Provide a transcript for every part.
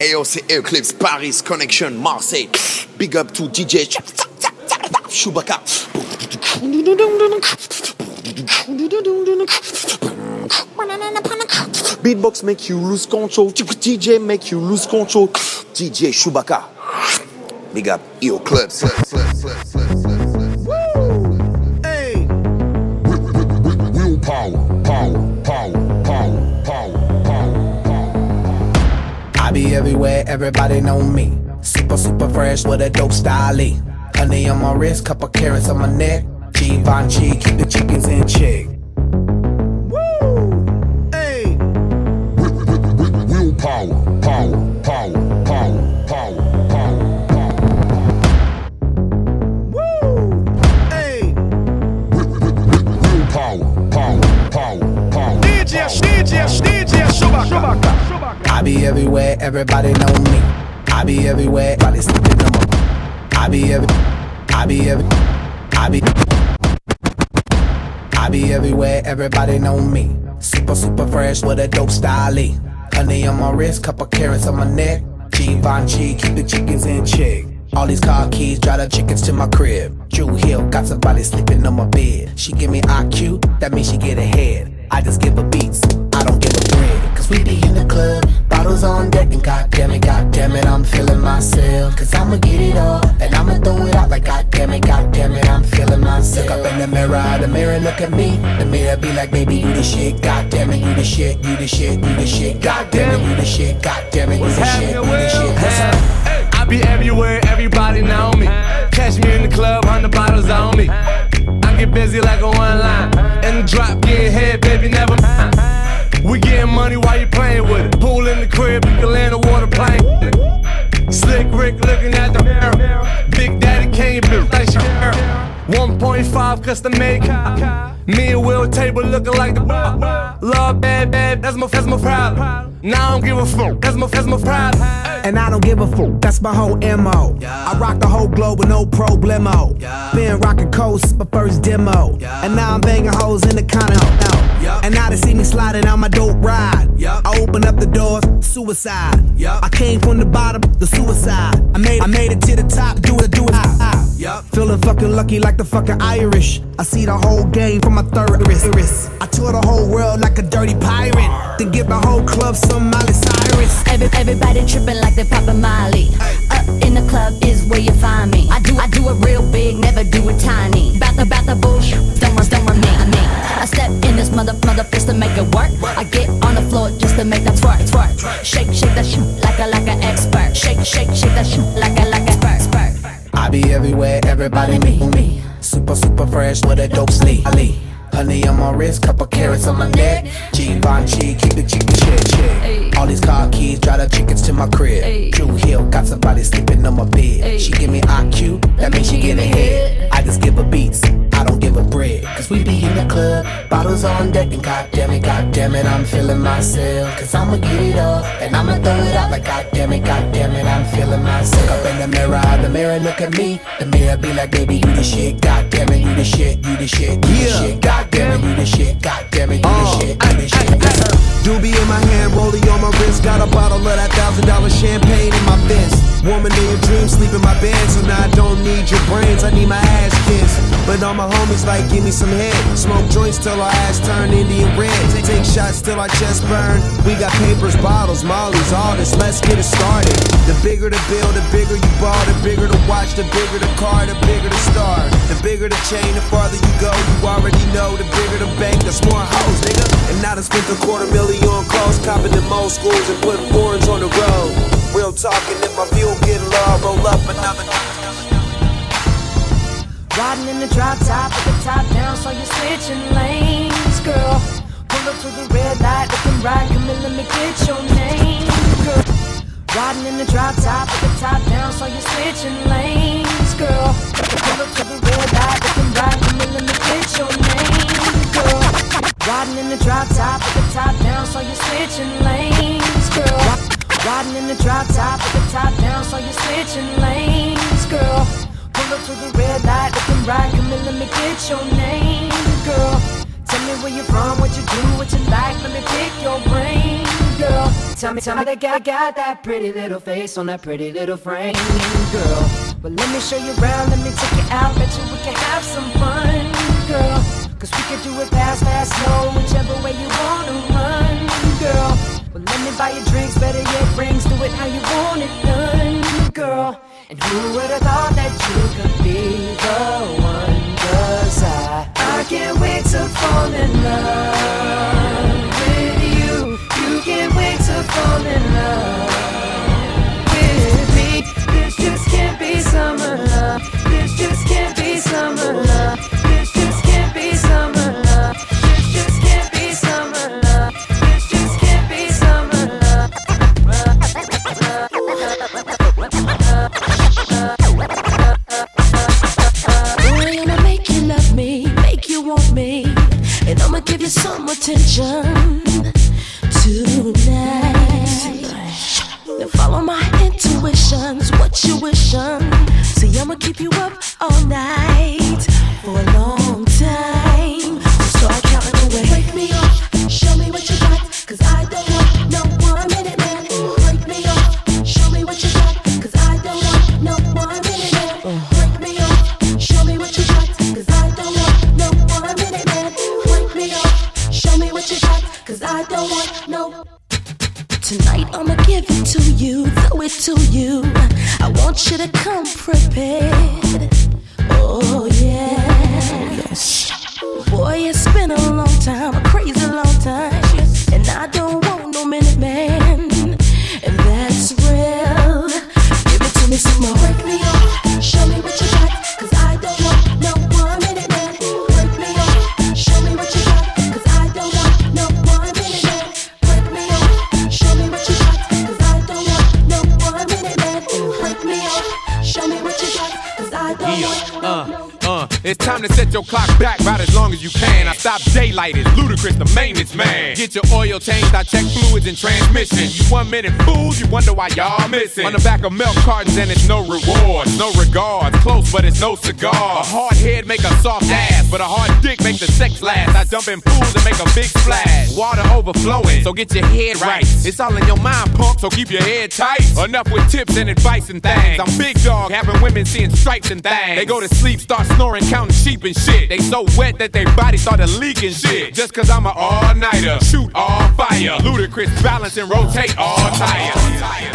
Ayo, c'est Eclipse, Paris, Connection, Marseille. Big up to DJ Chewbacca. Beatbox make you lose control. DJ make you lose control. DJ Chewbacca. Big up Eclipse. Hey. I be everywhere, everybody know me. Super fresh with a dope style. Honey on my wrist, couple carrots on my neck. Givenchy, keep the chickens in check. Woo! Hey! Willpower, power. Woo! Hey! Willpower, DJ Chewbacca. I be everywhere, everybody know me. I be everywhere, everybody sleeping on my. I be everywhere, everybody know me. Super fresh with a dope style. Honey on my wrist, couple carrots on my neck. Givenchy, keep the chickens in check. All these car keys, drive the chickens to my crib. Drew Hill, got somebody sleeping on my bed. She give me IQ, that means she get ahead. I just give her beats, I don't give her bread. Cause we be in the club, bottles on deck, and goddamn it, I'm feeling myself. Cause I'ma get it all, and I'ma throw it out like goddamn it, I'm feeling myself. Look up in the mirror look at me. The mirror be like, baby, you the shit, goddamn it, you the shit, you the shit, you the shit, goddamn it, you the shit, goddamn it, you the shit, you the shit. I be everywhere, everybody know me. Catch me in the club, 100 bottles on me. I get busy like a one line. In the drop, getting head, baby, never mind. We getting money while you playing with it. Pool in the crib, you can land a water plane. Slick Rick looking at the mirror. Big Daddy came built like Shakira. 1.5 custom made car. Me and Will table looking like the bar. Love bad, that's my problem. Now I don't give a fuck, that's my problem. And I don't give a fuck, that's my whole MO. I rock the whole globe with no problemo. Been rocking coast, my first demo. And now I'm banging hoes in the condo. And now they see me sliding out my dope ride. I open up the doors, suicide. I came from the bottom, the suicide. I made it to the top, do it. Feeling fucking lucky like the fucking Irish. I see the whole game from my third wrist. I tour the whole world like a dirty pirate. Then give the whole club some Miley Cyrus. Everybody tripping like they poppin' Molly. Up in the club is where you find me. I do it real big, never do it tiny. About the bullshit, don't run me. I step in this mother fist to make it work. I get on the floor just to make them twerk. Shake that shit like an expert. Shake that shit like a expert. I be everywhere, everybody me. Super fresh with a dope sleep. Honey on my wrist, couple carrots on my neck. Givenchy, keep the chicken check. All these car keys, drive the chickens to my crib. Drew Hill, got somebody sleeping on my bed. She give me IQ, that means she get ahead. I just give her beats, I don't give her bread. Cause we be in the club, bottles on deck, and goddamn it, I'm feeling myself. Cause I'ma get it all, and I'ma throw it out like goddamn it, I'm feeling myself. Look up in the mirror look at me. The mirror be like, baby, you the shit, goddamn it, you the shit, you the shit, you the shit, goddamn it, you the shit, goddamn it, you the shit, you the shit. Doobie in my hand, rollie on my wrist. Got a bottle of that $1,000 champagne in my fist. Woman in your dreams, sleep in my bed. So now I don't need your brains, I need my ass kissed. But all my homies like, give me some head. Smoke joints till our ass turn Indian red. Take shots till our chest burn. We got papers, bottles, mollies, all this, let's get it started. The bigger the bill, the bigger you ball. The bigger the watch, the bigger the car, the bigger the star. The bigger the chain, the farther you go. You already know, the bigger the bank, that's more hoes, nigga. And now I spent $250,000 on clothes, copping them old schools and putting foreigns on the road. Real talking, if my fuel get low, roll up another. Riding in the drop top with the top down, so you're switching lanes, girl. Pull up to the red light, looking right, come in, let me get your name, girl. Riding in the drop top with the top down, so you're switching lanes, girl. Pull up to the red light, looking right, come in, let me get your name, girl. Riding in the drop top with the top down, so you're switching lanes, girl. Riding in the drop top with the top down, so you're switching lanes, girl. Pull up to the red light, looking right, come in, let me get your name, girl. Tell me where you're from, what you do, what you like, let me pick your brain, girl. Tell me they got that pretty little face on that pretty little frame, girl. But let me show you around, let me take you out, bet you we can have some fun, girl. Cause we can do it fast, slow, whichever way you wanna run, girl. But let me buy you drinks, better yet rings, do it how you want it done, girl. And who would've thought that you could be the one? Cause I can't wait to fall in love with you. You can't wait to fall in love with me. This just can't be summer love. This just can't be summer love. This just can't be summer love. This just can't be summer love. This just can't be summer love. Boy, I'ma make you love me, make you want me, and I'ma give you some attention tonight. Now follow my intuitions, what you wishin'. See, I'ma keep you up all night for a long time. So start counting away. Break me off, show me what you got, cause I don't want no 1 minute man. Break me off, show me what you got, cause I don't want no 1 minute man. Break me off, show me what you got, cause I don't want no 1 minute man. Break me off, show me what you got, cause I don't want no. Tonight I'ma give it to you, throw it to you. I want you to come prepared. Oh yeah. Yes. Boy, it's been a long time, a crazy long time, and I don't want no minute man, and that's real. Give it to me some more. Break me off, show me what you got, cause I don't want no 1 minute man. Break me off, show me what you got, cause I don't want no 1 minute man. Break me off, show me what you got, cause I don't want no 1 minute man. Break me off, show me what you got, cause I don't want no. It's time to set your clock back about as long as you can. I stop daylight, it's Ludacris, the maintenance man. Get your oil changed, I check fluids and transmission. You 1 minute fools, you wonder why y'all missing. On the back of milk cartons and it's no rewards, no regards. Close but it's no cigar. A hard head make a soft ass, but a hard dick make the sex last. I jump in pools and make a big splash. Water overflowing, so get your head right. It's all in your mind, punk, so keep your head tight. Enough with tips and advice and things. I'm big dog, having women seeing stripes and things. They go to sleep, start snoring, counting sheep and shit. They so wet that their body started leaking shit. Just cause I'm an all-nighter, shoot all fire. Ludacris balance and rotate all tires.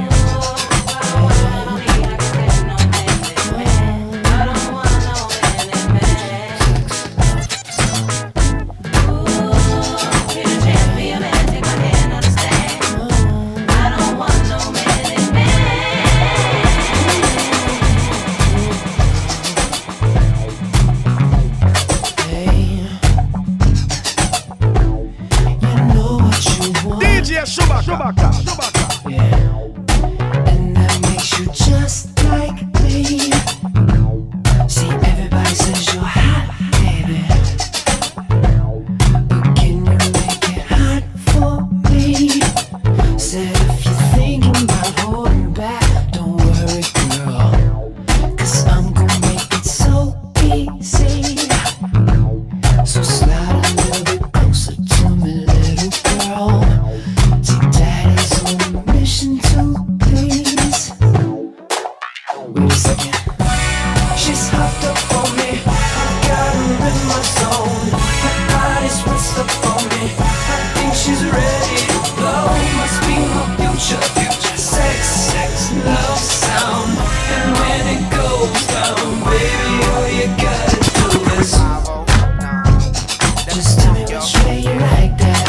Chewbacca. Yeah. And that makes you just like me. See, everybody says you're hot, baby. But can you make it hot for me? Said if you're thinking about holding back, don't worry, girl, cause I'm gonna make it so easy. So slide a little bit closer to me, little girl. Daddy's on a mission to please. Wait a second. She's hopped up on me. I got her in my zone. Her body's what's up on me. I think she's ready to blow. Must be my future. Sex, love sound. And when it goes down, baby, all you gotta do is just tell me which way you like that.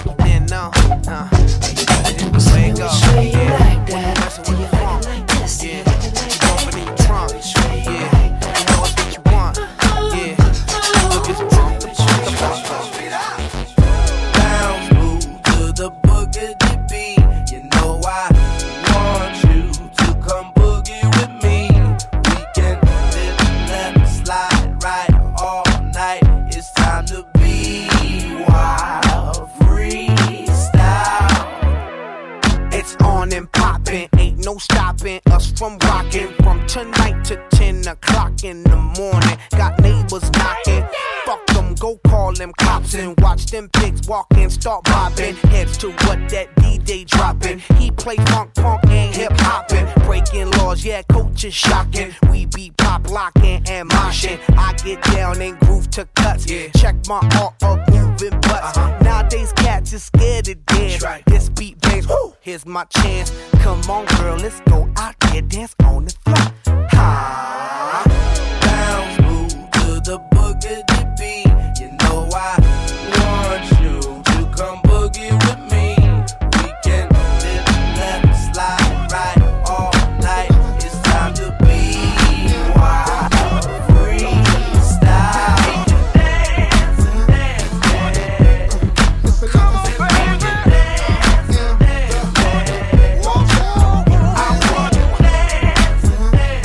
No stopping us from rocking from tonight to 10 o'clock in the morning. Got neighbors knocking, fuck them go call them cops and watch them pigs walk in, start bobbing heads to what that DJ dropping. He play funk, punk, and hip hopping, breaking laws, yeah, coach is shocking. We be pop locking and moshing. I get down and groove to cuts. Check my art of moving butts. Nowadays cats is scared to dance. This beat bangs, whoo, here's my chance. Come on, girl, let's go out there, dance on the floor. Ha! Bounce, move to the boogie beat. You know I want you to come boogie with me. We can live, left, slide, right, all night. It's time to be wild, freestyle. Dance, dance, dance. Come on, baby. Dance, dance, dance. Watch out. I want to dance, dance,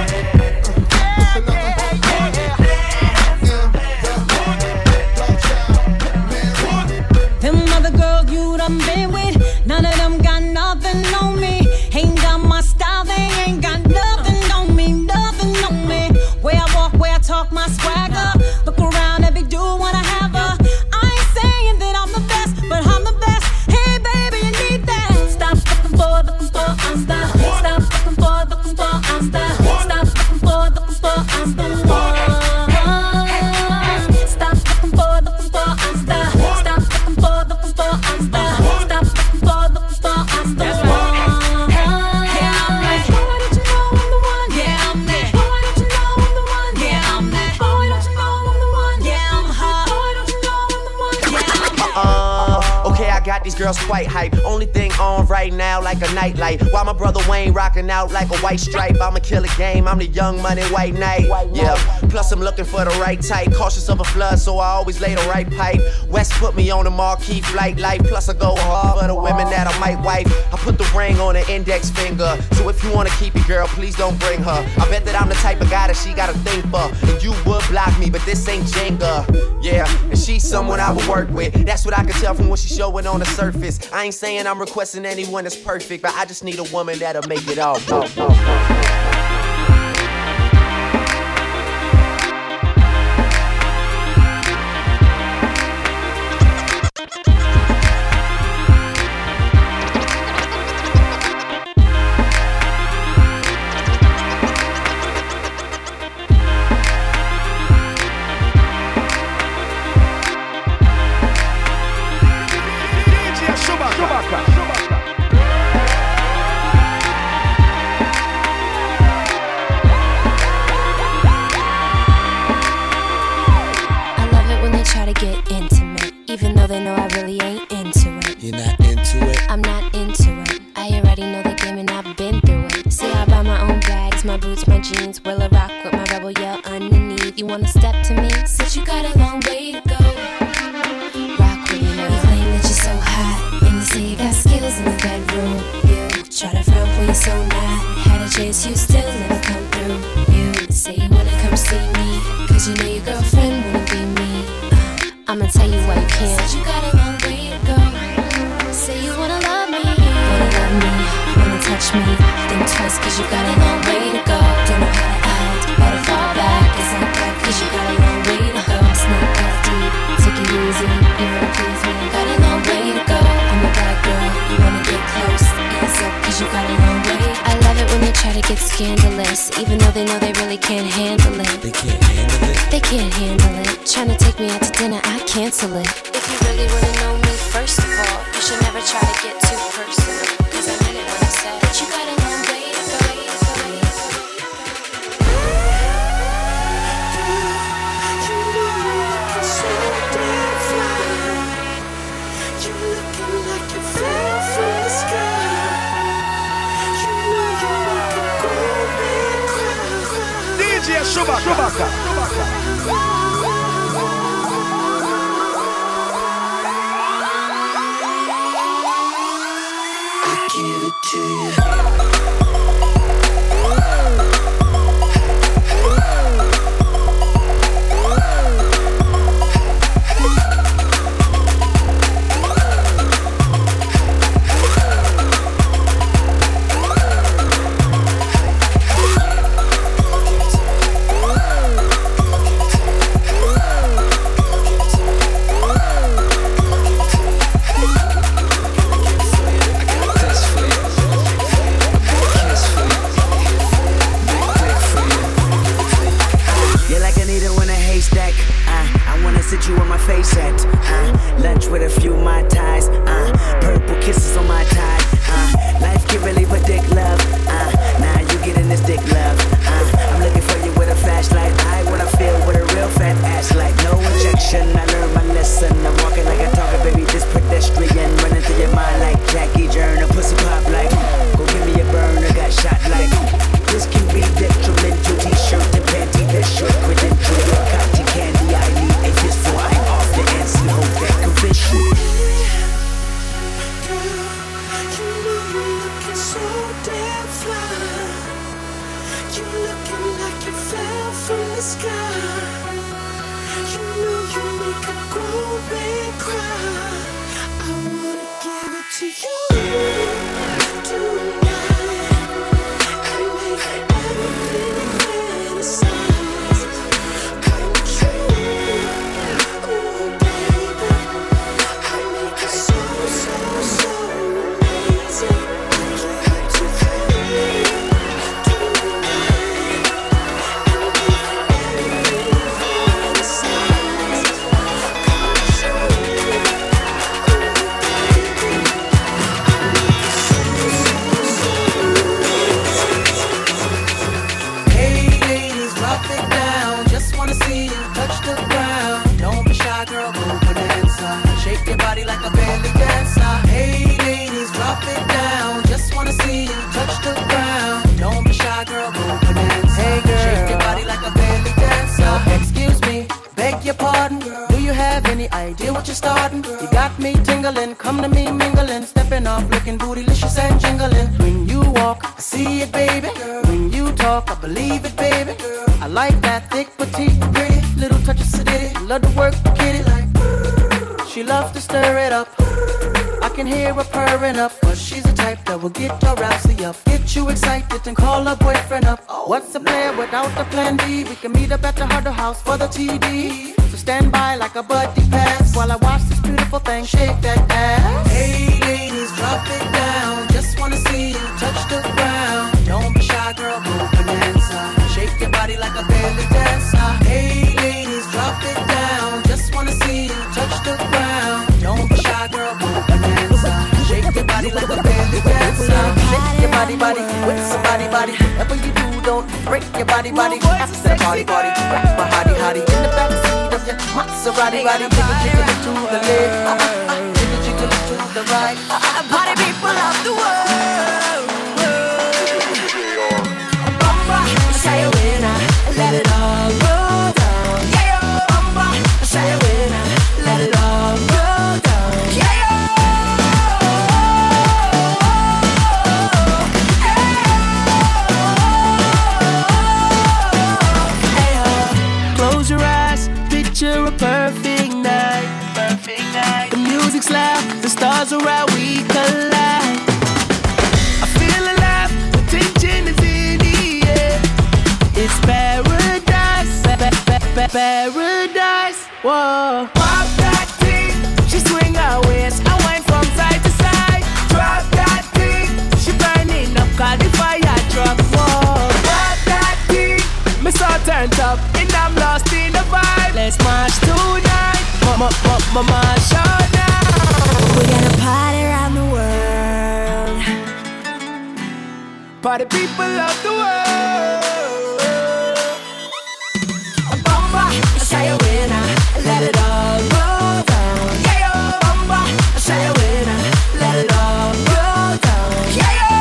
dance. Them other girls you done been with, none of them got nothing on me. Ain't got my style, they ain't got nothing on me, nothing on me. Where I walk, where I talk, my swagger. Look around, every dude wanna have her. I ain't saying that I'm the best, but I'm the best. Hey baby, you need that. Stop looking for, I'm style. Stop looking for, I'm style. Stop looking for, I'm the one. Stop looking for, I'm style. Stop looking for, I'm style. Stop looking for, I'm the one. Yeah, I'm that. Boy, don't you know I'm the one? Yeah, I'm that. Boy, don't you know I'm the one? Yeah, I'm that. Boy, don't you know I'm the one? Yeah, I'm hot. Boy, don't you know I'm the one? Yeah, I'm that. Okay, I got these girls quite hype. Only thing on right now like a nightlight. While my brother Wayne rocking out like a white stripe. I'ma kill a game, I'm the young money white knight. Yeah, plus I'm looking for the right type. Cautious of a flood, so I always lay the right pipe. West put me on a marquee flight life. Plus I go hard for the women that I might wife. I put the ring on her index finger. So if you wanna keep it, girl, please don't bring her. I bet that I'm the type of guy that she gotta think for. And you would block me, but this ain't Jenga. Yeah, and she's someone I would work with. That's what I can tell from what she's showing on the surface. I ain't saying I'm requesting anyone that's perfect, but I just need a woman that'll make it all. Even though they know I really ain't into it. You're not into it? I'm not into it. I already know the game and I've been through it. See, I buy my own bags, my boots, my jeans. Will I rock with my rebel yell underneath? You wanna step to me? Since you got a long way to go. Rock with me now. You claim that you're so hot, and you say you got skills in the bedroom. You try to front when you're so not. Had a chance, you still never come through. You say you wanna come see me, cause you know your girlfriend wanna be me. I'ma tell you why you can't. Said you got a long way to go. Say you wanna love me, wanna touch me. Think twice cause you got a long way to go. Don't know how to act, better fall back. It's like that cause you got a long way to go. It's not that deep, take it easy. You wanna please me, got a long way to go. I'm a bad girl, you wanna get close. Ease up cause you got a long way. I love it when they try to get scandalous, even though they know they really can't handle it. They can't handle it? They can't handle it. Tryna take me out to dinner, I cancel it. If you really wanna know me, first of all, you should never try to get too personal. Cause I meant it when I said that you got a long way to go. You know you're looking so damn fly. You're looking like you fell from the sky. You know you make a grown man cry. DJ Chewbacca. Give it to you. looking like you fell from the sky. You know you make a grown man cry. I wanna give it to you tonight and make everything fantasize come true. Ooh, baby, I make it so, so, so amazing. Give it to you tonight and make everything fantasize come true. Hey ladies, drop it down. Just wanna see you touch the ground. Don't be shy, girl, go bonanza. Shake your body like a belly dancer. Hey ladies, drop it down. Just wanna see you touch the ground. Don't be shy, girl, go bonanza. Hey girl, shake your body like a belly dancer. Excuse me, beg your pardon. Do you have any idea what you're starting? You got me tingling, come to me mingling, stepping off, looking bootylicious and jingling. When you walk, I see it, baby. When you talk, I believe it, baby. I like that thick, petite, pretty, little touch of sedity. Love to work the kitty like. She loves to stir it up. I can hear her purring up, but she's the type that will get your rousey up, get you excited and call her boyfriend up. What's a player without a plan B? We can meet up at the Harder House for the TD. So stand by like a buddy pass while I watch this beautiful thing shake that ass. Hey ladies, drop it down. Just wanna see you touch the ground. Don't be shy, girl, go bonanza. Shake your body like a belly dancer. Hey ladies, drop it down. Just wanna see you touch the ground. Don't be shy, girl, go bonanza. Shake your body like a belly dancer. Shake your body, body with somebody, body. Whatever you do, don't break your body, body. After the party, party, rock my hottie, hottie in the backseat of your Maserati, body. Jiggle, jiggle it to the left, jiggle, jiggle it to the right. Party people of the world. Bumba, say a winner, let it all roll down. Yeah, yo, bumba, say a winner, let it all roll down. Yeah, yo. Close your eyes, picture a perfect night. Perfect night. The music's loud, the stars are out, we collide. I feel alive, the tension is in the air. It's paradise, paradise. Whoa. Pop that thing, she swing her waist, I wind from side to side. Drop that thing, she burning up, call the fire truck. Whoa. Pop that thing, me so turned up, and I'm lost in the vibe. Let's march tonight, march all night. We're gonna party around the world. Party people of the world. Bumba, say a winner, let it all roll down. Yeah, yo, bumba, say a winner, let it all roll down. Yeah, yo.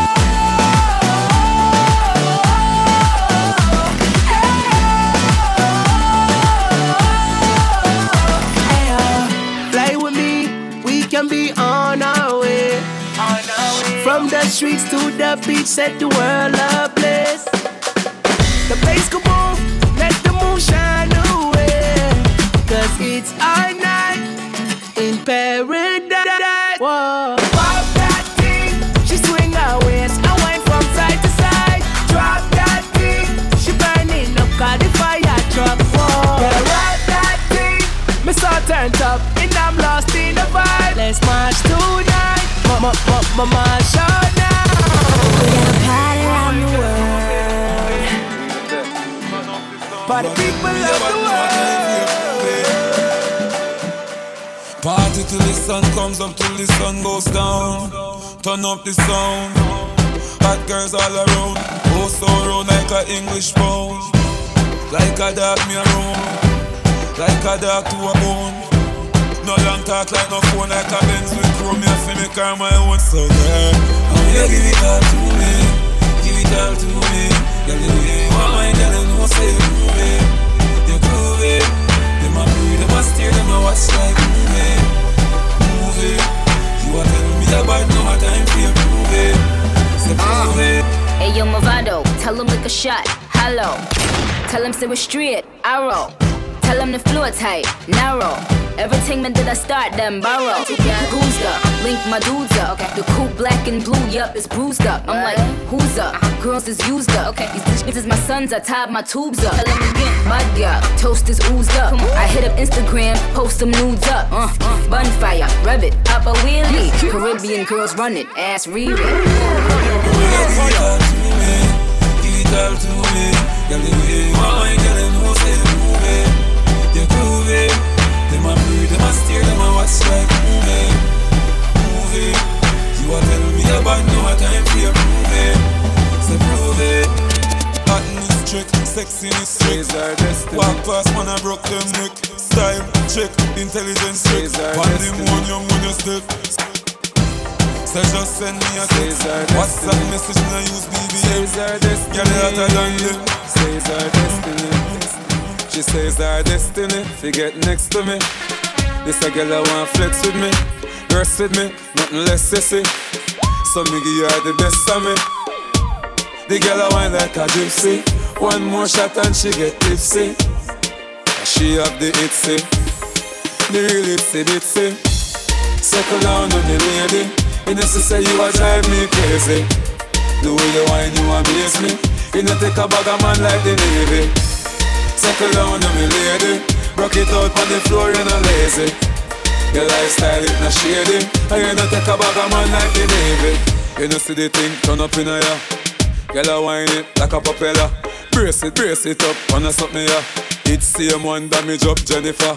Fly with me, we can be on our way. From the streets to the beach, set the world ablaze. The bass go boom, let the moon shine away. Cause it's our night in paradise. Whoa. Pop that thing, she swing her waist, I wind from side to side. Drop that thing, she burning up, call the fire truck. Whoa. Yeah, ride that thing, me so turned up, and I'm lost in the vibe. Let's march tonight, march all night. We're gonna party around the world. Party people of the world. Party till the sun comes up, till the sun goes down. Turn up the sound. Hot girls all around. Oh, so round like a English pound. Like a dog me around. Like a dog to a bone. No long talk like no phone, like a Benz with chrome. Me feel me car my own. So girl, you give it all to me. Give it all to me. Girl, you know you want my girl, you know say you groove it. You groove it. Them a breathe, them a steer, them a watch like movie. Move it. You a tell me about no time for you prove it. Say prove it. Hey yo, Movado, tell him lick a shot. hollow. Tell him say we're straight, arrow. Tell him the floor tight, narrow. Everything man did I start them borrow. Who's up? Link my dudes up. The coupe black and blue, yup, it's bruised up. I'm like, who's up? Girls is used up. These bitches my sons, I tied my tubes up. Tell him again, mud up, toast is oozed up. I hit up Instagram, post some nudes up. Bonfire, rev it, pop a wheelie. Caribbean girls run it, ass read it. Give it all to me. Girl, the way you want, girl, you know say move it. You prove it. Them a breathe, them a stare, them a watch like movie. Movie. You a tell me about no time for you prove it. So prove it. Hot in this trick, sexy in this trick. Walk past man, I broke them neck. Style, check, intelligence check. One them one young when you step. So just send me a text. WhatsApp message when I use BBM. Girl, you hotter than them. Says our destiny. She says our destiny. Forget next to me. This a girl I want flex with me. Rest with me, nothing less sissy. So me give her the best of me. The girl I want like a gypsy. One more shot and she get tipsy. She have the itsy. The real itsy bitsy. Circle down on the lady. You know to say you a drive me crazy. The way you whine you amaze me. You know take a bag of man like the Navy. Circle down on me lady. Rock it out on the floor you know lazy. Your lifestyle it not shady. And you know take a bag of man like the Navy. You know see the thing turn up in a ya. Girl a whine it like a propeller. Brace it up, wanna suck me ya. It's same one damage up Jennifer.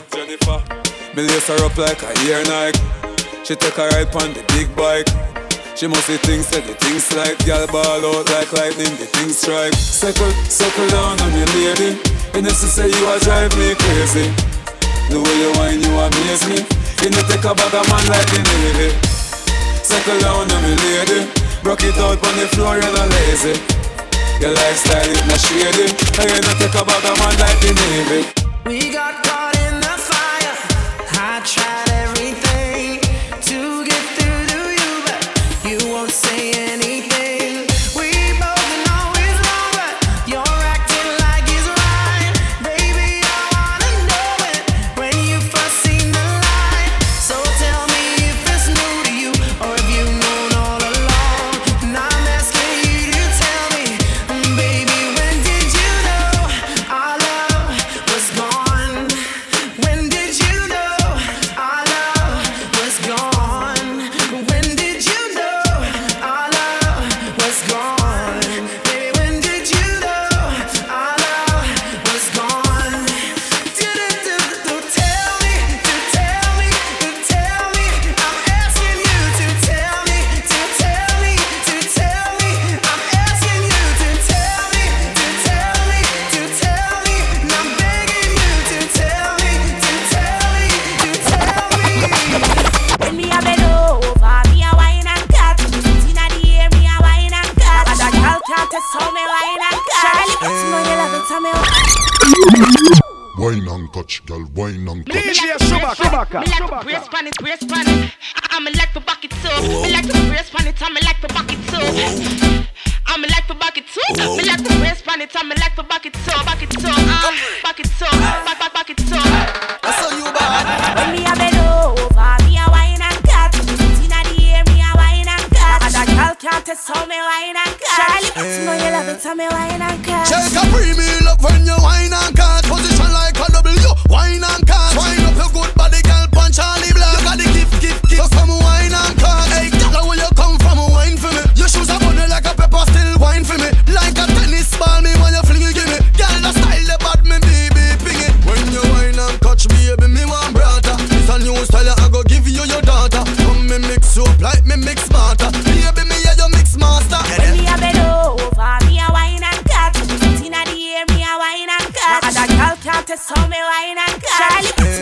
Me lace her up like a ear Nike. She take a ride on the big bike. She must see things, said the things like girl ball out like lightning, the things strike. Circle down on your lady. You know to say you a drive me crazy. The way you whine you amaze me. You know take a bag of man like the Navy. Circle down on me lady. Rock it out on the floor you know lazy. Your lifestyle is not shady. And you know take a bag of man like the Navy. We got caught in the fire. I tried everything to get through to you, but you won't say anything. We both know it's wrong, but you're acting like it's right. Baby, I wanna know it when you first seen the light. So tell me if it's new to you or if you've known all along. And I'm asking you to tell me, baby, when did you know our love was gone? When did you know our love was gone? When did you know our love was gone? Baby, when did you know our love was gone? Tell me, I'm asking you to tell me, I'm asking you to tell me, and I'm begging you to tell me. When me a bend over, me a wine and cut. Sit inna the air, me a wine and cut. And a girl can't test how me wine and cut. Charlie, you know you love it, tell me. Wine and touch, girl, wine and touch. Me like to brace pan it. I'm like to back it too. Me like to brace pan it, I'm like to back it too. I'm like to back it too. Me like to brace pan it, I'm like to back it too. Back it too. Back it too. Back it too. I saw you bad. When me a bend over, me a wine and cut. Sit inna the air, me a wine and cut. And a girl can't test how me wine and cut. Charlie, you know you love it, tell me wine and cut. Shake a pre-meal up when you wine and cut. Position like a W, wine and cut. Wine up your good body, girl, punch Charlie Black. You got the gift. So come wine and cut. Hey, girl, where you come from, wine for me. Your shoes are bunny like a pepper, still wine for me. Like a tennis ball, me when you fling it, give me. Girl, the style, the bad, me baby, ping it. When you wine and catch baby, me want brother. It's a new style, I go give you your daughter. Come me mix you up like me mix smarter. Baby, me yeah, you mix master. When me a bend over, me a wine and cut. Sit inna the air, me a wine and cut. And a girl can't test how me wine and cut. Charlie,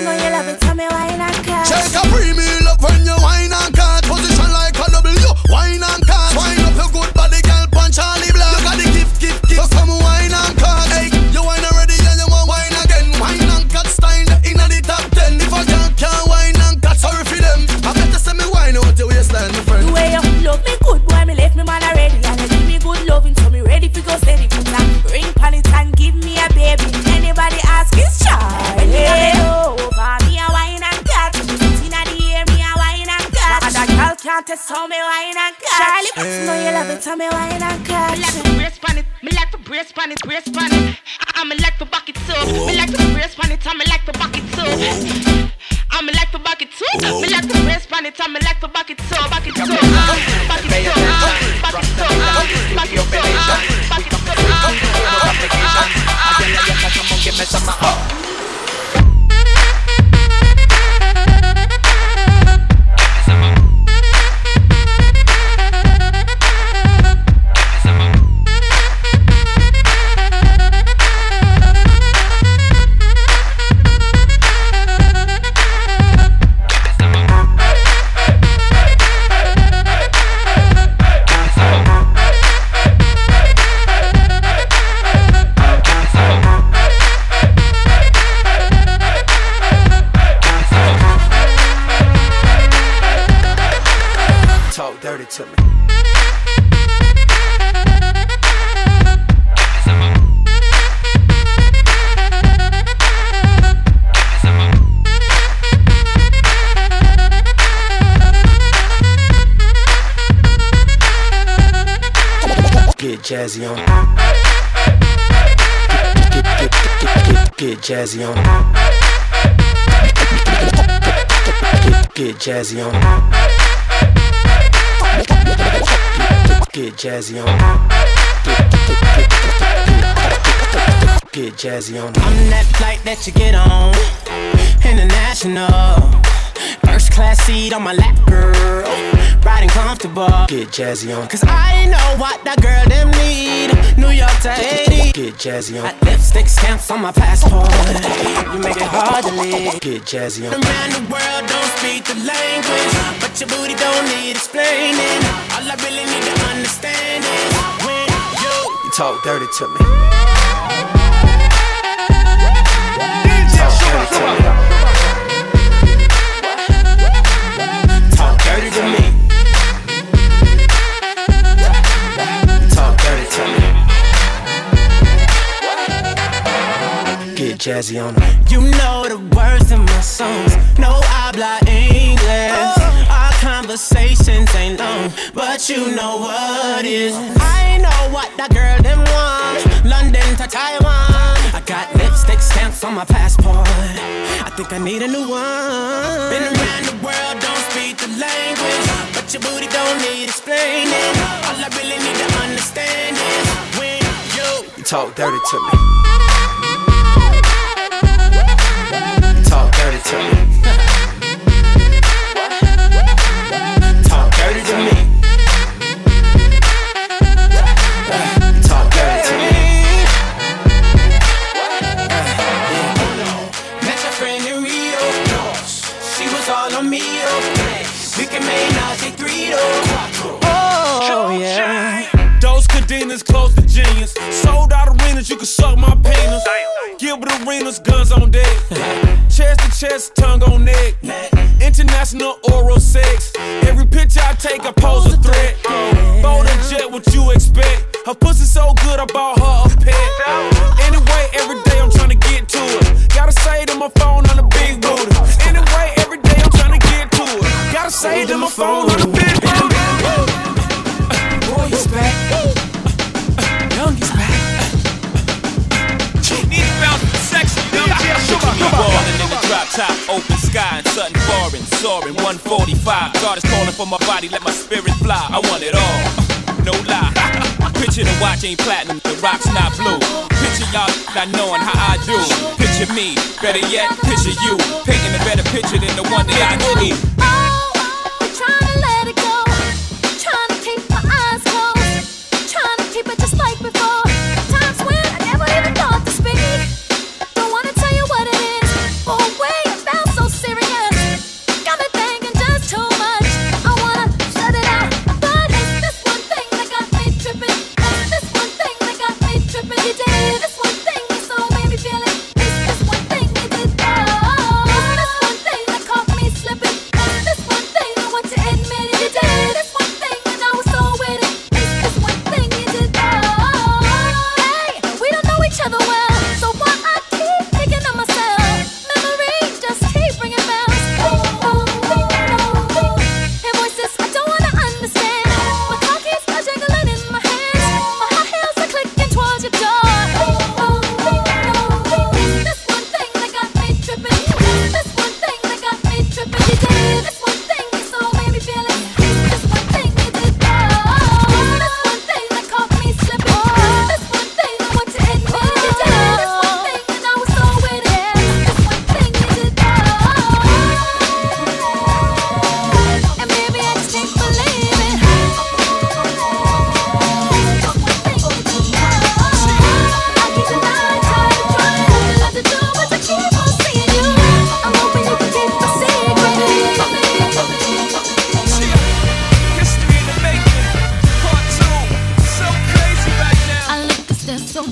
tell me why you not catch me like to brace pan it, me like to brace pan it, brace pan it. I'm like to bucket too. Me like to brace pan it, I'm like to bucket too. I'm like to bucket too. Me like to brace pan it, I'm like to bucket too, bucket too, bucket too, bucket too, bucket too, bucket too, bucket too. Give me some to me. Get jazzy on. Get jazzy on. Get jazzy on. Get jazzy on. Get jazzy on. I'm that flight that you get on. International. First class seat on my lap, girl. Riding comfortable. Get jazzy on. Cause I know what that girl them need. New York to Haiti. Get jazzy on. Got lipstick stamps on my passport. You make it hard to live. Get jazzy on. Around the world don't speak the language, but your booty don't need explaining. All I really need to understand is when you talk dirty to me. Talk dirty to me. Talk dirty to me. Talk dirty to me. Get jazzy on. You know the words of my songs. No habla English. Our conversations ain't long, but you know what is. I know what that girl them want. London to Taiwan. I got lipstick stamps on my passport. I think I need a new one. Been around the world, don't speak the language, but your booty don't need explaining. All I really need to understand is when you talk dirty to me. Talk dirty to me. Talk dirty to me. Talk dirty to me. Met your friend in Rio. She was all on me. We can make Nazi 3 Oh yeah. Those cadenas close to genius. Sold out arenas, you can suck my penis. Gilbert Arenas, guns on deck. Chest to chest, tongue on neck. International oral sex. Every picture I take, I pose a threat. Bold and jet, what you expect? Her pussy so good, I bought her a pet. Anyway, every day I'm trying to get to it. Gotta say to my phone on the big booty. Anyway, every day I'm trying to get to it. Gotta say to my phone on the big booty. Boy, he's back. Young is back. Need to bounce with sexy. Ballin' in the drop top, open sky, and something foreign, soaring 145. God is calling for my body, let my spirit fly. I want it all, no lie. Picture the watch ain't platinum, the rock's not blue. Picture y'all not knowing how I do. Picture me, better yet, picture you. Painting a better picture than the one that I need. Trying to let it go, trying to keep my eyes closed, trying to keep it just like before. Times when I never even thought to speak. Don't wanna tell you what it is, for a way it felt so serious. Got me thinking just too much. I wanna shut it out, but it's this one thing that got me tripping. It's this one thing that got me tripping. You did this one thing that so made me feel it. It's this one thing you did. Oh, it's this one thing that caught me slipping. It's this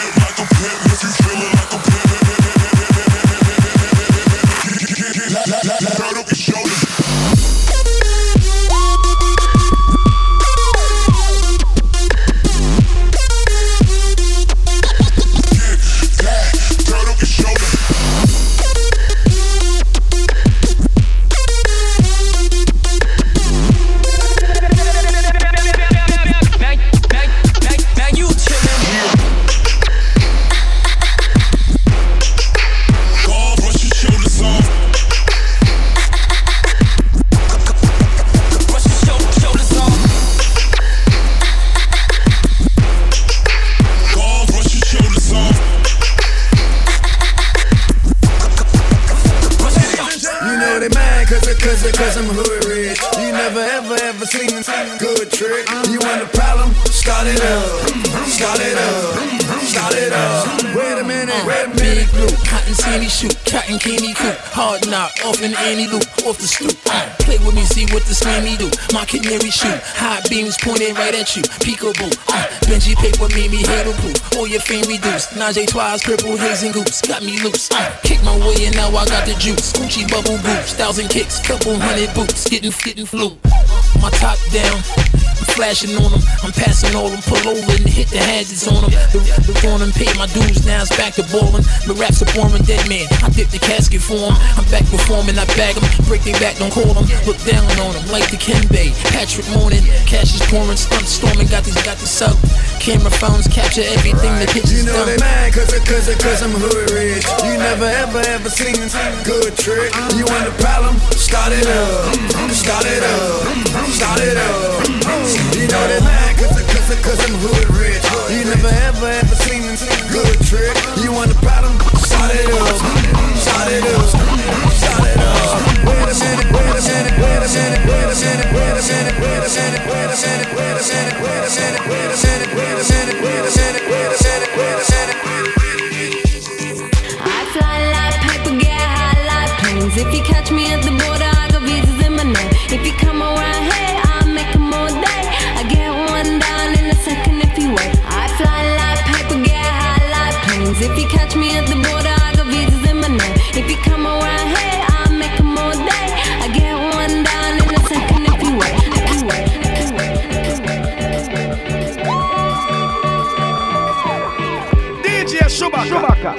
hit like a pimp. seen a good trick. You want a problem? Start it up. Start it up. Start it up. Wait a minute. Big blue, cotton candy shoot, cotton candy coop, hard knock, off in any loop, off the stoop. Play with me, see what the slammy do. My canary shoot, high beams pointed right at you. Peekaboo, Benji paper made me handle proof. All your fame reduced. Najee Twice, purple haze and goops, got me loose. Kick my way and now I got the juice. Gucci bubble boots, 1,000 kicks, couple hundred boots, getting flu. My top down, I'm flashing on them, I'm passing all them, pull over and hit the hazards on them. The on them, paid my dues, now it's back to ballin'. The raps are boring, dead man, I dip the casket for him. I'm back performing, I bag them, break their back, don't call them. Look down on them, like the Kenbay, Patrick Morning. Cash is pouring, stunt storming, got the sub. Camera phones capture everything, the pictures you know done. they mad cause I'm hood rich. You never ever seen a good trick. You want a problem? Start it up. Start it up. Start it up. You know they mad cause I'm hood rich. You never ever seen a good trick. You want a problem? Start it up. Start it up. Start it up. Wait a minute, wait a minute, wait a minute, wait a minute, wait a minute, wait a minute, wait a minute, wait a minute, wait a minute, wait a minute, wait a minute, wait a minute, wait a minute, wait a minute. I fly like paper, get high like planes. If you catch me at the border, I got visas in my name. If you come around here, I'll make them all day. I get one down in a second if you wait. I fly like paper, get high like planes. If you catch me at the border, I got visas in my name. If you come around here, I'll make them all day. I get one down in a second if you wait. DJ Chewbacca.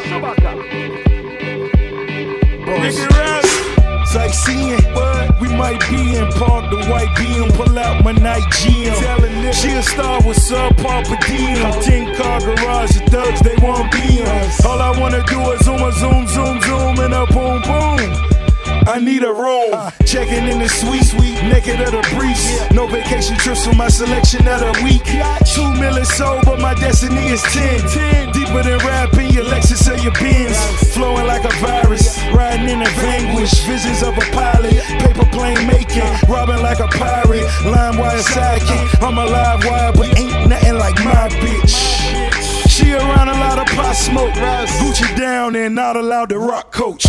Sightseeing, we might be in park, the white BM, pull out my night GM. She a star with subpar per diem. 10-car garage, the thugs, they want BMs. All I wanna do is zoom, and a boom, boom. I need a room. Checking in the sweet, naked at a breeze. No vacation trips for my selection of the week. 2 million sold, but my destiny is 10. Deeper than rapping your Lexus or your Benz. Flowing like a virus, riding in a vanquish. Visions of a pilot, paper plane making. Robbing like a pirate, line wire sidekick. I'm a live wire, but ain't nothing like my bitch. She around a lot of pot smoke. Gucci down and not allowed to rock coach.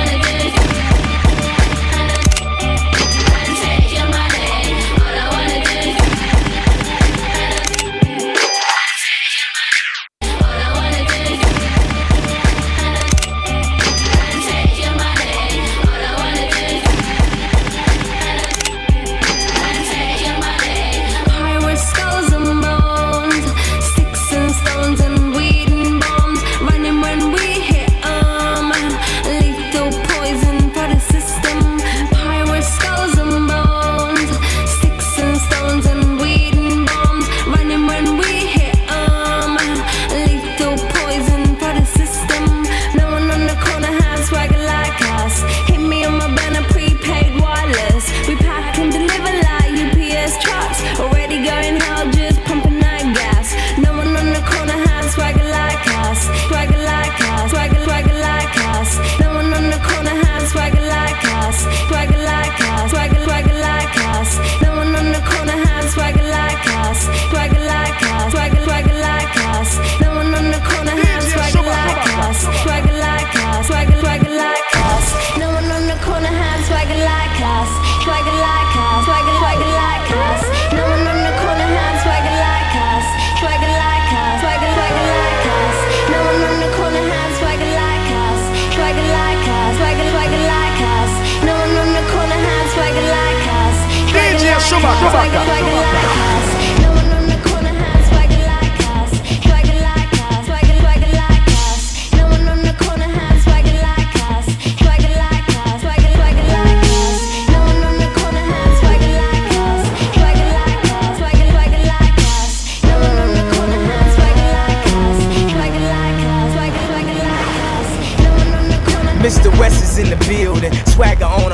Mr. West is in the building, swagger on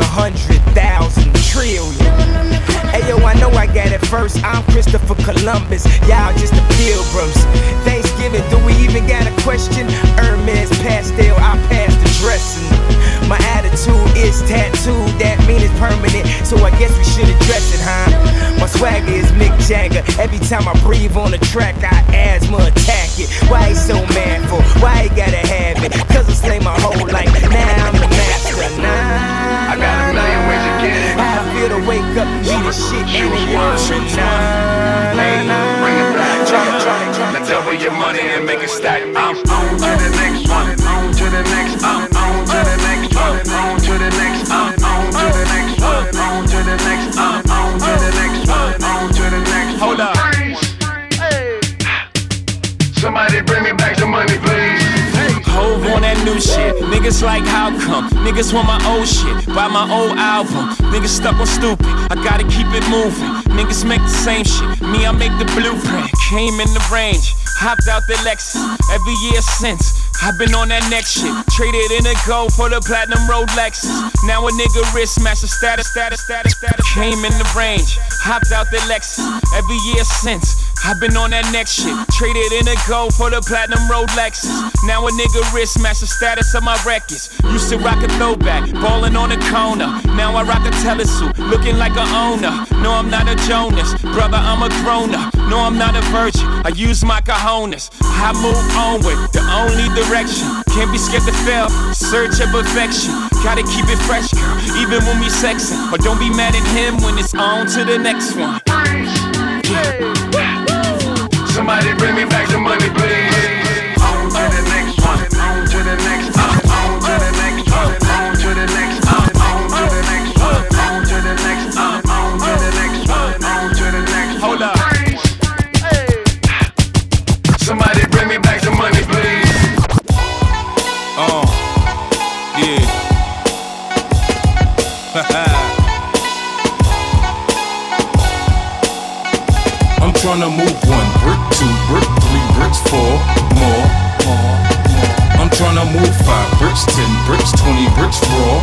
100,000 trillion. Ayo, I know I got it first. I'm Christopher Columbus, y'all just the pilgrims. Thanksgiving, do we even got a question? Hermes pastel, I pass the dressing. My attitude is tattooed, that mean it's permanent, so I guess we should address it, huh? My swag time I breathe on the track, I asthma attack it. Why he so manful? Why he gotta have it? Cause I slay my whole life, now I'm the master. Nah, I got a million ways to get it. How I feel to wake up and be the shit and it works. Bring it back. Now double your money and make it stack. I'm on to the next one. On to the next. On to the next one. On to the next. On to the next one. On to the next. On to the next one. On to the next. Hold up. Somebody bring me back some money, please. Hove on that new shit. Niggas like how come? Niggas want my old shit. Buy my old album. Niggas stuck on stupid. I gotta keep it moving. Niggas make the same shit. Me, I make the blueprint. Came in the range. Hopped out the Lexus. Every year since. I've been on that next shit. Traded in a gold for the platinum Rolexes. Now a nigga wrist match the status. Came in the range. Hopped out the Lexus. Every year since. I've been on that next shit. Traded in a gold for the platinum Rolexes. Now a nigga wrist match the status of my records. Used to rock a throwback, ballin' on a corner. Now I rock a telesuit, looking like a owner. No, I'm not a Jonas, brother, I'm a grown-up. No, I'm not a virgin, I use my cojones. I move onward, the only direction. Can't be scared to fail, search of perfection. Gotta keep it fresh, girl, even when we sexin'. But don't be mad at him when it's on to the next one. Somebody bring me back some money, please. On to the next one. On to the next. On to the next one. On to the next. On to the next one. On to the next. On to the next one. On to the next. Hold up. Somebody bring me back some money, please. Yeah. I'm tryna move 1 brick, 2 brick, 3 bricks, 4 more. I'm tryna move 5 bricks, 10 bricks, 20 bricks, raw,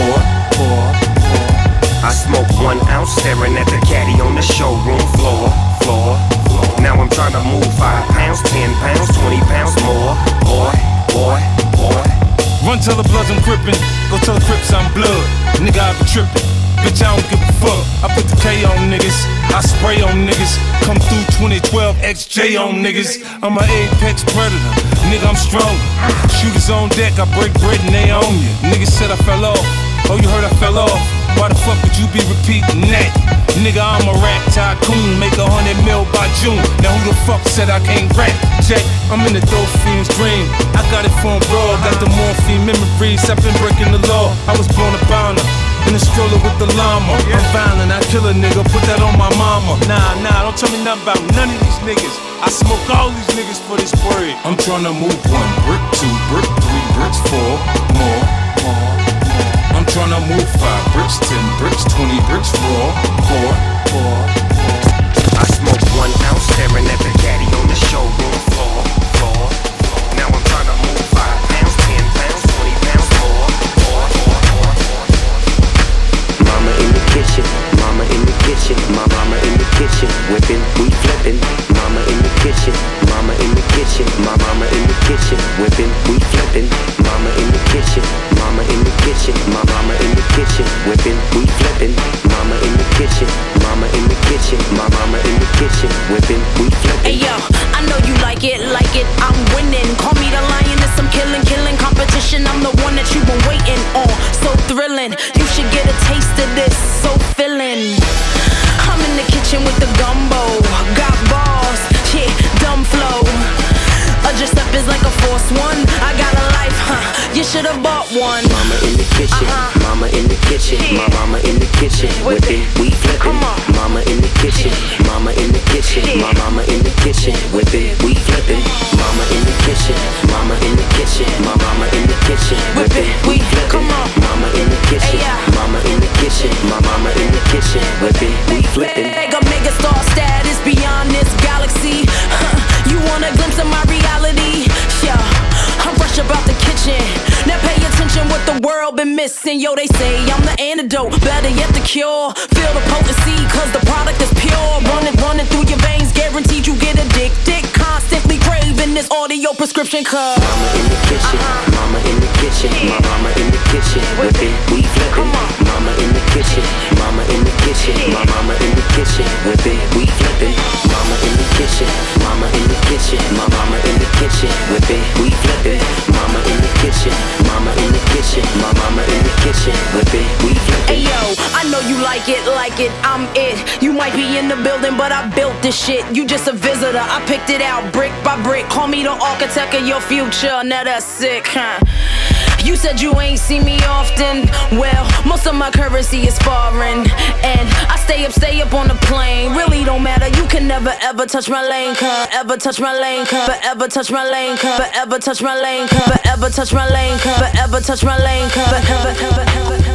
4. I smoke 1 ounce staring at the caddy on the showroom floor. Now I'm tryna move 5 pounds, 10 pounds, 20 pounds more. Boy. Run tell the bloods I'm gripping, go tell the Crips I'm blood. Nigga, I be trippin'. Bitch, I don't give a fuck. I put the K on niggas, I spray on niggas. Come through 2012, XJ on niggas. I'm an apex predator, nigga, I'm strong. Shooters on deck, I break bread and they own you. Niggas said I fell off, oh you heard I fell off. Why the fuck would you be repeating that? Nigga, I'm a rap tycoon, make 100 mil by June. Now who the fuck said I can't rap? Jack, I'm in the dope fiend's dream. I got it from raw, got the morphine memories. I've been breaking the law, I was born a bounder. In a stroller with the llama. I'm violent, I kill a nigga, put that on my mama. Nah, don't tell me nothing about none of these niggas. I smoke all these niggas for this bread. I'm tryna move 1 brick, 2 brick, 3 bricks, 4 more. I'm tryna move 5 bricks, 10 bricks, 20 bricks, raw, 4. I smoke 1 ounce staring at the caddy on the showroom floor. Now I'm tryna move 5 pounds, 10 pounds, 20 pounds more. Mama in the kitchen, mama in the kitchen, my mama in the kitchen, whipping, we flipping. Mama in the kitchen, mama in the kitchen, my mama in the kitchen, whipping, we flipping. Mama in the kitchen, mama in the kitchen, my mama in the kitchen, whipping, we flipping. Mama in the kitchen, mama in the kitchen, my mama in the kitchen, whipping, we flipping. Hey yo, I know you like it, I'm winning. Call me the lioness, I'm killing competition. I'm the one that you've been waiting on, so thrilling. You should get a taste of this, so filling. I'm in the kitchen with the gumbo, got balls, yeah, dumb flow. Just up is like a force one. I got a life, you should've bought one. Mama in the kitchen, mama in the kitchen, my mama in the kitchen, whipping, we flipping. Mama in the kitchen, mama in the kitchen, my mama in the kitchen, whipping, we flipping. Mama in the kitchen, mama in the kitchen, my mama in the kitchen, whipping, we flipping. Mama in the kitchen, mama in the kitchen, my mama in the kitchen, whipping, we flipping. Mega star status beyond this galaxy. You want a glimpse of my reality? Yeah, I'm fresh about the kitchen. Now pay attention what the world been missing. Yo, they say I'm the antidote, better yet the cure. Feel the potency, cause the product is pure. Running through your veins, guaranteed you get addicted. Constantly craving this audio prescription, cause Mama in the kitchen, mama in the kitchen, my mama in the kitchen, whipping, we flipping. Mama in the kitchen, mama in the kitchen. kitchen, my mama in the kitchen, whipping, we flipping. Mama in the kitchen, mama in the kitchen, my mama in the kitchen, whipping, we flipping. Mama in the kitchen, mama in the kitchen, my mama in the kitchen, whipping, we flipping. Hey yo, I know you like it, I'm it. You might be in the building, but I built this shit. You just a visitor, I picked it out brick by brick. Call me the architect of your future, now that's sick, huh? You said you ain't seen me often. Well, most of my currency is foreign, and I stay up on the plane. Really don't matter, you can never ever touch my lane, cuz. Ever touch my lane, cuz. Forever touch my lane, cuz. Forever touch my lane, cuz. Forever touch my lane, cuz. Forever touch my lane, cuz. Forever.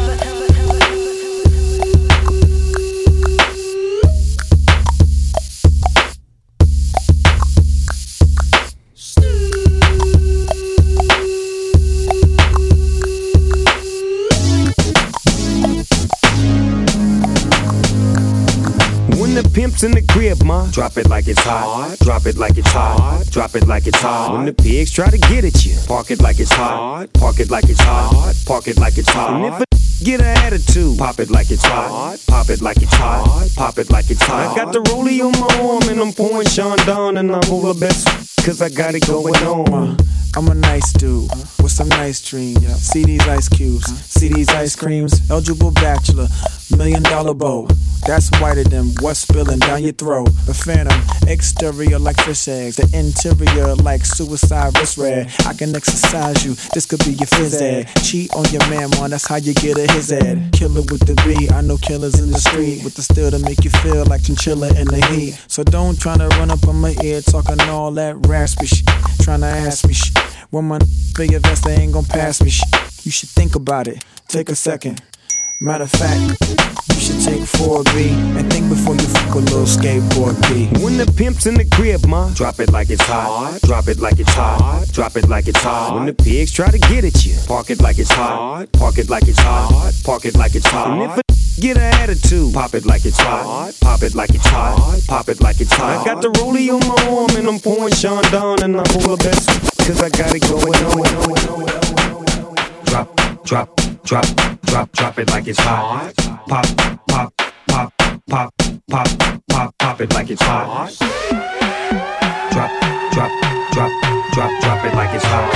The pimp's in the crib, ma. Drop it like it's hot. Drop it like it's hot. Drop it like it's hot. When the pigs try to get at you, park it like it's hot. Park it like it's hot. Park it like it's hot. And if a get an attitude, pop it like it's hot. Pop it like it's hot. Pop it like it's hot. I got the rollie on my arm and I'm pouring Sean down and I'm over best cause I got it going on. I'm a nice dude with some nice dreams. See these ice cubes, see these ice creams. Eligible bachelor, $1 million bow. That's whiter than what's spilling down your throat. The phantom, exterior like fish eggs, the interior like suicide wrist red. I can exercise you, this could be your phys ed. Cheat on your man, man, that's how you get a his ed. Killer with the B, I know killers in the street with the steel to make you feel like chinchilla in the heat. So don't tryna run up on my ear talking all that raspy shit, tryna ask me shit. When my big investor ain't gon' pass me shit. You should think about it, take a second. Matter of fact, you should take 4B and think before you fuck a little skateboard B. When the pimp's in the crib, ma, drop it like it's hot. Drop it like it's hot. Drop it like it's hot. When the pigs try to get at you, park it like it's hot. Park it like it's hot. Park it like it's hot. And if a get an attitude, pop it like it's hot. Pop it like it's hot. Pop it like it's hot. I got the rollie on my arm and I'm pouring Sean down and I'm full of best cause I got it going on. Drop, drop, drop, drop, drop it like it's hot. Pop, pop, pop, pop, pop, pop, pop it like it's hot. Drop, drop, drop, drop, drop it like it's hot.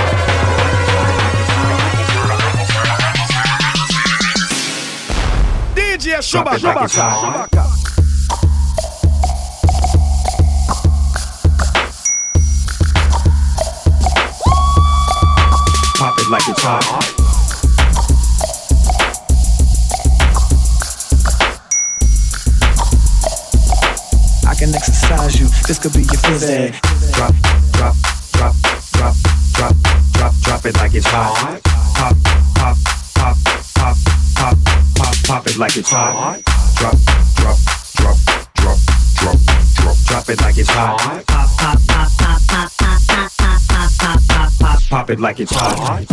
DJ Shubaka. Pop it like it's hot. I can exercise you, this could be your phys ed. Drop, drop, drop, drop, drop, drop, drop it like it's hot. Pop, pop, pop, pop, pop, pop, pop it like it's hot. Drop, drop, drop, drop, drop, drop, drop it like it's hot. Pop, pop, pop, pop, pop, pop, pop, pop, pop, pop, pop, pop it like it's hot.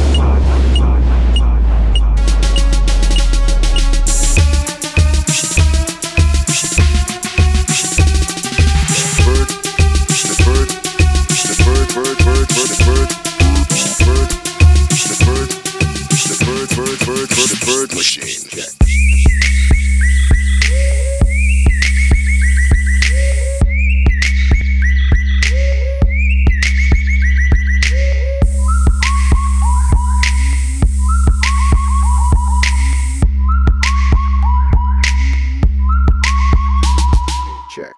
Bird machine. Check.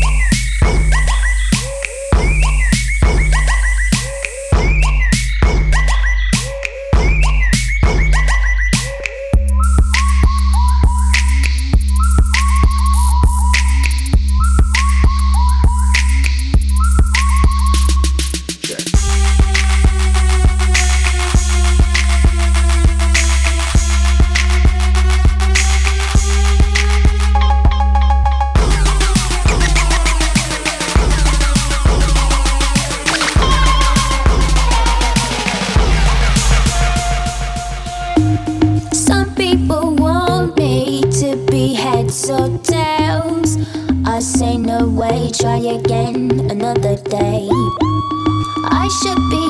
Try again another day. I should be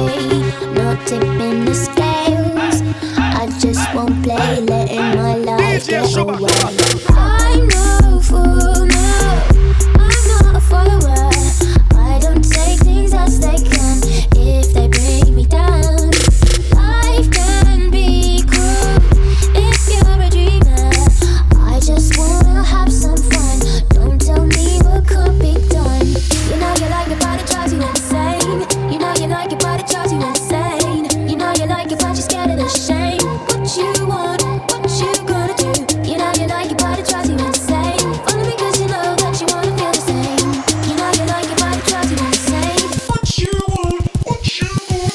happy, not tipping the scales. I just won't play, letting my life get away. I'm no fool, no, I'm not a follower. I don't take things as they come if they bring me down. Life can be cruel if you're a dreamer. I just wanna have some fun. Don't tell me what could be done. You know you like it, but it drives you insane. You know you like it, but it drives you insane. You know you like it, but you're scared of the shame. What you want, what you gonna do? You know you like it, but it drives you insane. Only because you know that you wanna feel the same. You know you like it, but it drives you insane. What you want, what you want.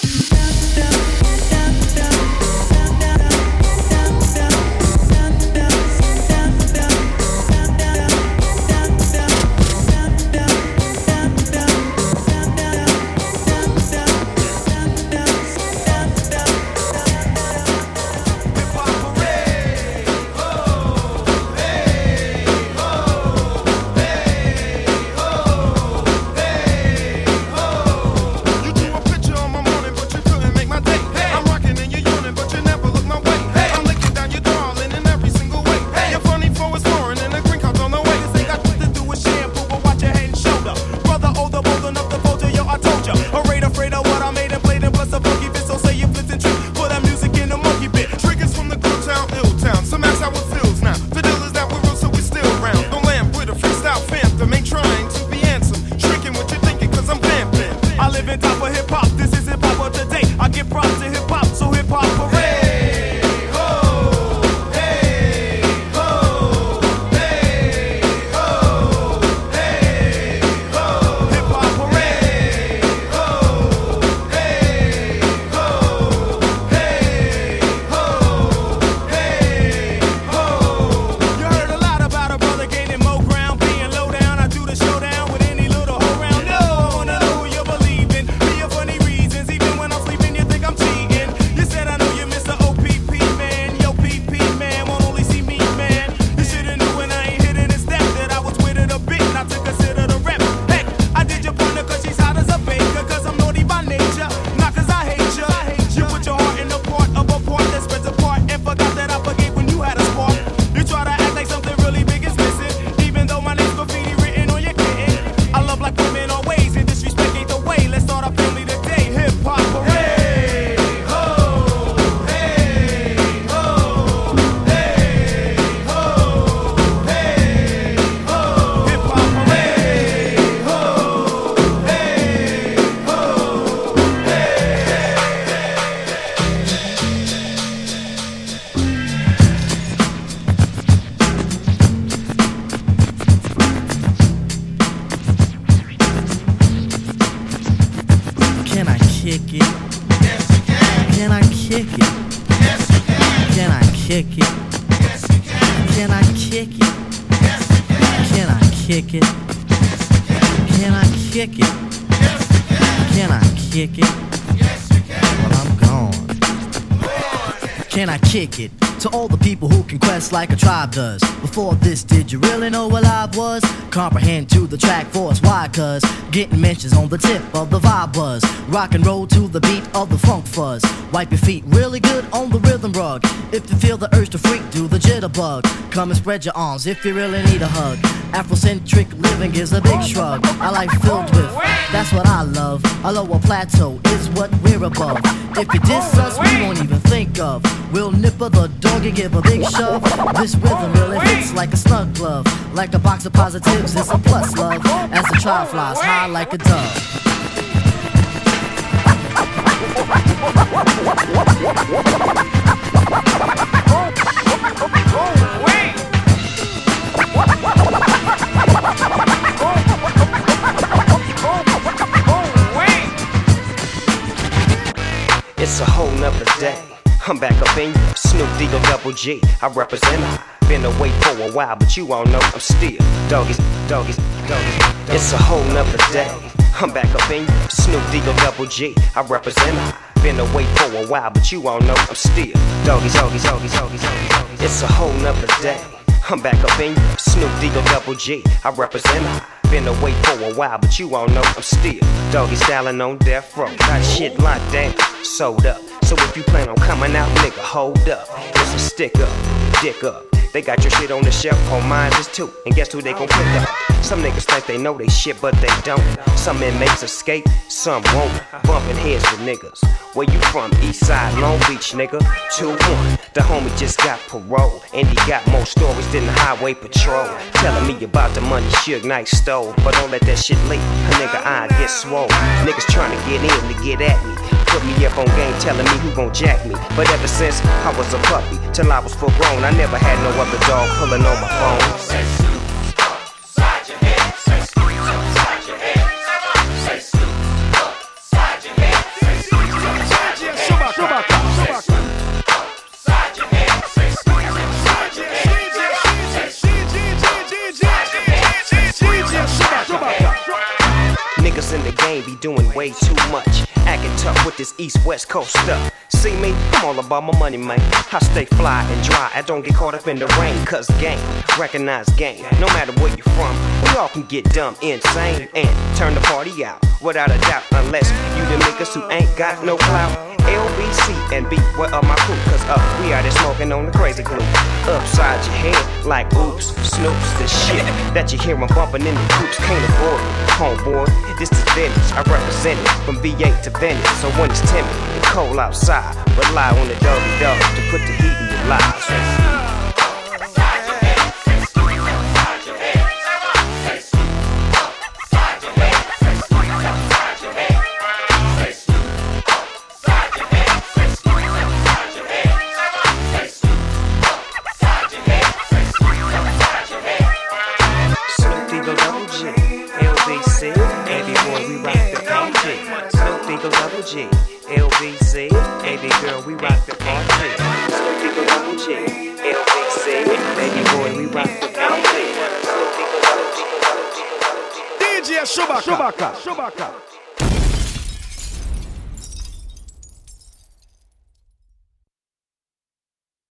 Kick it to all the people who can quest like a tribe does. Before this, did you really know what live was? Comprehend to the track force, why? Cause getting mentions on the tip of the vibe buzz. Rock and roll to the beat of the funk fuzz. Wipe your feet really good on the rhythm rug. If you feel the urge to freak, do the jitterbug. Come and spread your arms if you really need a hug. Afrocentric living is a big shrug. I like filled with, that's what I love. A lower plateau is what we're above. If you diss us, we won't even think of. We'll nipper the dog and give a big shove. This rhythm really fits like a snug glove. Like a box of positives, it's a plus love. As the trial flies high like a dove. It's a whole nother day. I'm back up in you, Snoop D-O Double G. I represent I. Been away for a while, but you all know I'm still doggies. It's a whole nother day. I'm back up in you, Snoop D-O Double G. I represent I. Been away for a while, but you all know I'm still doggies. It's a whole nother day. I'm back up in you, Snoop D-O Double G. I represent I. Been away for a while, but you all know I'm still doggy styling on death row. Got shit locked down, sold up. So if you plan on coming out, nigga, hold up. It's a stick up, dick up. They got your shit on the shelf, on mine is too. And guess who they gon' pick up? Some niggas think they know they shit, but they don't. Some inmates escape, some won't. Bumping heads with niggas. Where you from? East Side, Long Beach, nigga. 2-1. The homie just got parole, and he got more stories than the highway patrol. Telling me about the money Suge Knight stole, but don't let that shit leak. A nigga eye get swole. Niggas trying to get in to get at me. Put me up on game, telling me who gon' jack me. But ever since I was a puppy, till I was full grown, I never had no other dog pulling on my phone. Say scoop upside your head. Say scoop upside your head. Say scoop upside your head. Say scoop upside your head. Say scoop upside your head. Say scoop upside your head. Niggas in the game be doing way too much. Acting tough with this East-West Coast stuff. See me? I'm all about my money, man. I stay fly and dry. I don't get caught up in the rain. Cause game, recognize game. No matter where you from, we all can get dumb, insane, and turn the party out. Without a doubt, unless you the niggas who ain't got no clout. LBC and B, where are my crew? Cause we out there smoking on the crazy glue. Upside your head, like oops, snoops, the shit that you hear 'em bumping in the coops. Can't afford it, homeboy, this is vintage. I represent it from VA to Venice. So when it's timid and cold outside, rely on the doggy dog to put the heat in your lives. G, LBC, baby girl, we rock the party. G, LBC, baby boy, we rock the party. DJ Chewbacca.